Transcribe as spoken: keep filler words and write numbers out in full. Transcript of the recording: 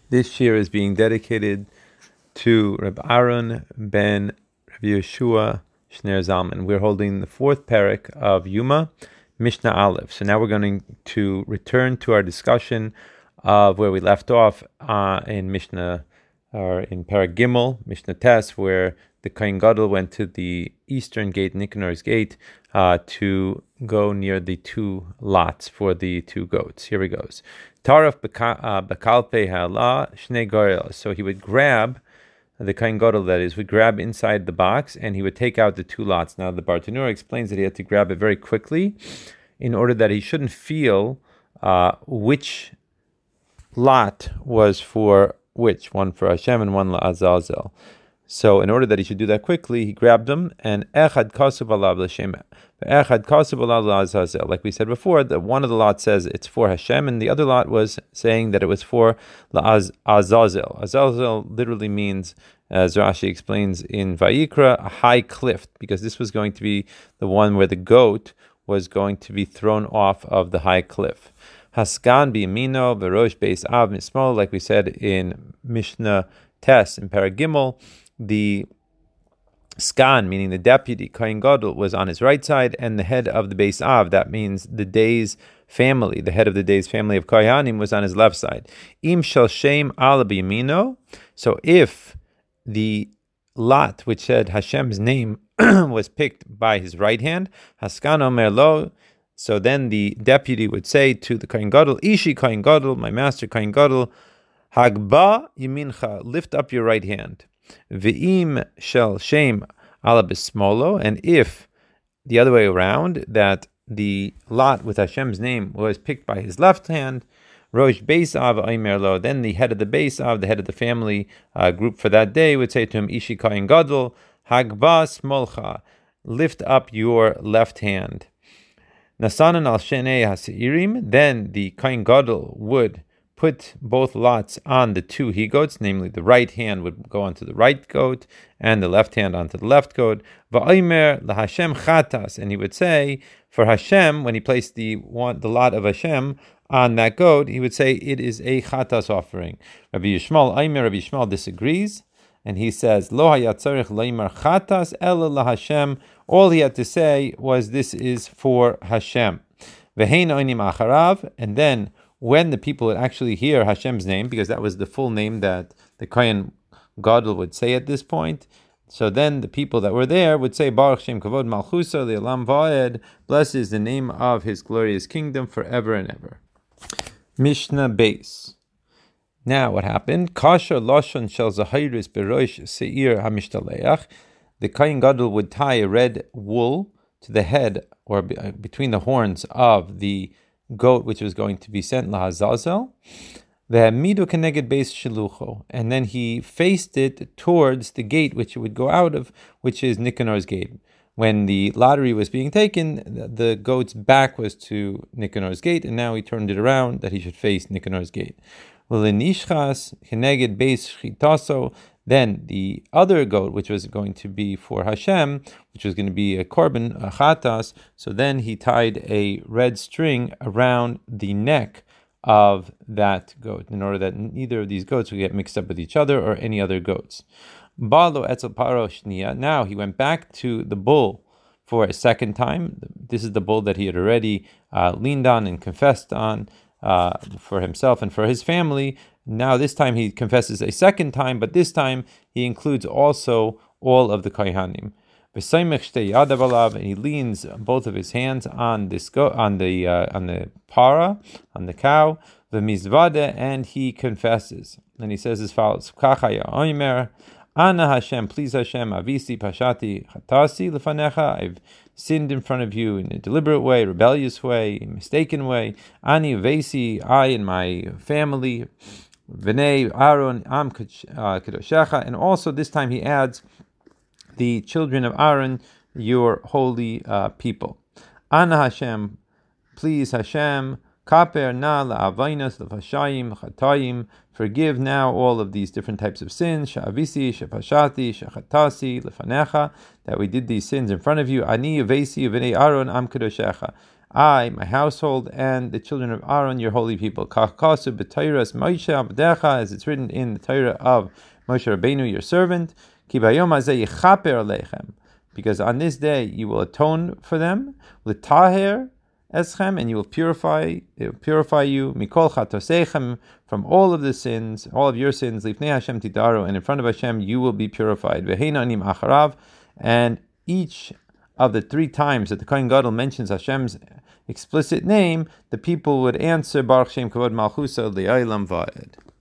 This year is being dedicated to Reb Aaron ben Reb Yeshua Shner Zalman. We're holding the fourth parak of Yuma, Mishnah Aleph. So now we're going to return to our discussion of where we left off uh, in Mishnah, or in Parak Gimel, Mishnah Tes, where the Kohen Gadol went to the eastern gate, Nicanor's gate, uh, to go near the two lots for the two goats. Here he goes. Taraf bekalpe ha'ala shnei gorel. So he would grab, the Kohen Gadol that is, would grab inside the box and he would take out the two lots. Now the Bartanura explains that he had to grab it very quickly in order that he shouldn't feel uh, which lot was for which, one for Hashem and one la'azazel. So in order that he should do that quickly, he grabbed them and echad kasav alav l'shem, echad kasav alav la'azazel. Like we said before, that one of the lots says it's for Hashem, and the other lot was saying that it was for la'azazel. Azazel literally means, as Rashi explains in Vayikra, a high cliff, because this was going to be the one where the goat was going to be thrown off of the high cliff. Haskan b'yamino v'rosh beis av mismo, like we said in Mishnah Tes in Parak Gimel, the skan, meaning the deputy, Kohen Gadol, was on his right side, and the head of the Beis Av, that means the day's family, the head of the day's family of Kohanim, was on his left side. Im shel shem ala b'yamino, so if the lot which said Hashem's name was picked by his right hand, Haskan omer lo, so then the deputy would say to the Kohen Gadol, Ishi Kohen Gadol, my master Kohen Gadol, Hagba yamincha, lift up your right hand. Ve'im shel shem ala bismolo, and if the other way around, that the lot with Hashem's name was picked by his left hand, Rosh Beis Av Aimer Lo, then the head of the Beis Av, the head of the family uh, group for that day, would say to him, Ishi Kohen Gadol, Hagba smolcha, lift up your left hand. Nasanan al shenei hasirim, then the Kohen Gadol would put both lots on the two he-goats, namely the right hand would go onto the right goat and the left hand onto the left goat. Va'omer laHashem chatas, and he would say for Hashem, when he placed the one, the lot of Hashem on that goat, he would say it is a chatas offering. Rabbi Yishmael Aimer, Rabbi Yishmael disagrees, and he says lo hayat tzarich laimar chatas ela laHashem. All he had to say was this is for Hashem. Vehein oinim acharav, and then when the people would actually hear Hashem's name, because that was the full name that the Kohen Gadol would say at this point, so then the people that were there would say, Baruch Shem Kavod Malchusa Le'olam Va'ed, blessed is the name of his glorious kingdom forever and ever. Mishnah Beis. Now what happened? Kasher Lashon Shel Zahiris Berosh Seir HaMishtaleach. The Kohen Gadol would tie a red wool to the head, or between the horns of the goat which was going to be sent lahazazel, ve'amidu keneged beis shilucho, and then he faced it towards the gate which it would go out of, which is Nicanor's gate. When the lottery was being taken, the goat's back was to Nicanor's gate, and now he turned it around that he should face Nicanor's gate. V'lenishchas keneged beis shchitaso, then the other goat, which was going to be for Hashem, which was going to be a korban, a chatas, so then he tied a red string around the neck of that goat, in order that neither of these goats would get mixed up with each other or any other goats. Balo etzel paro shnia. Now he went back to the bull for a second time. This is the bull that he had already uh, leaned on and confessed on uh, for himself and for his family. Now this time he confesses a second time, but this time he includes also all of the Kohanim. And he leans both of his hands on this go- on the uh, on the para, on the cow, the mizvade, and he confesses. And he says as follows: Ana Hashem, please Hashem, avisi pashati chatasi lefanecha. I've sinned in front of you in a deliberate way, rebellious way, mistaken way. Ani vesi, I and my family. V'nei Aaron am kadoshecha, and also this time he adds the children of Aaron, your holy uh, people. Ana Hashem, please Hashem, kaper na la'avainas lefashayim chatayim, forgive now all of these different types of sins, sha'avisi, shepashati, shechatasi lefanecha, that we did these sins in front of you. Ani vesi v'nei Aaron am kadoshecha. I, my household, and the children of Aaron, your holy people. Kachkasu b'Teiras Moshe Abdecha, as it's written in the Torah of Moshe Rabbeinu, your servant. Ki bayom hazeh yichaper aleichem, because on this day you will atone for them. L'taher eschem, and you will purify, it will purify you. Mikol chatoseichem, from all of the sins, all of your sins. Lifnei Hashem tidaru, and in front of Hashem you will be purified. Veheina anim acharav, and each of the three times that the Kohen Gadol mentions Hashem's explicit name, the people would answer Baruch Shem Kavod Malchusa Li'olam Va'ed.